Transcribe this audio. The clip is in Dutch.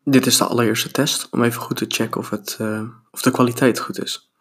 Dit is de allereerste test om even goed te checken of de kwaliteit goed is.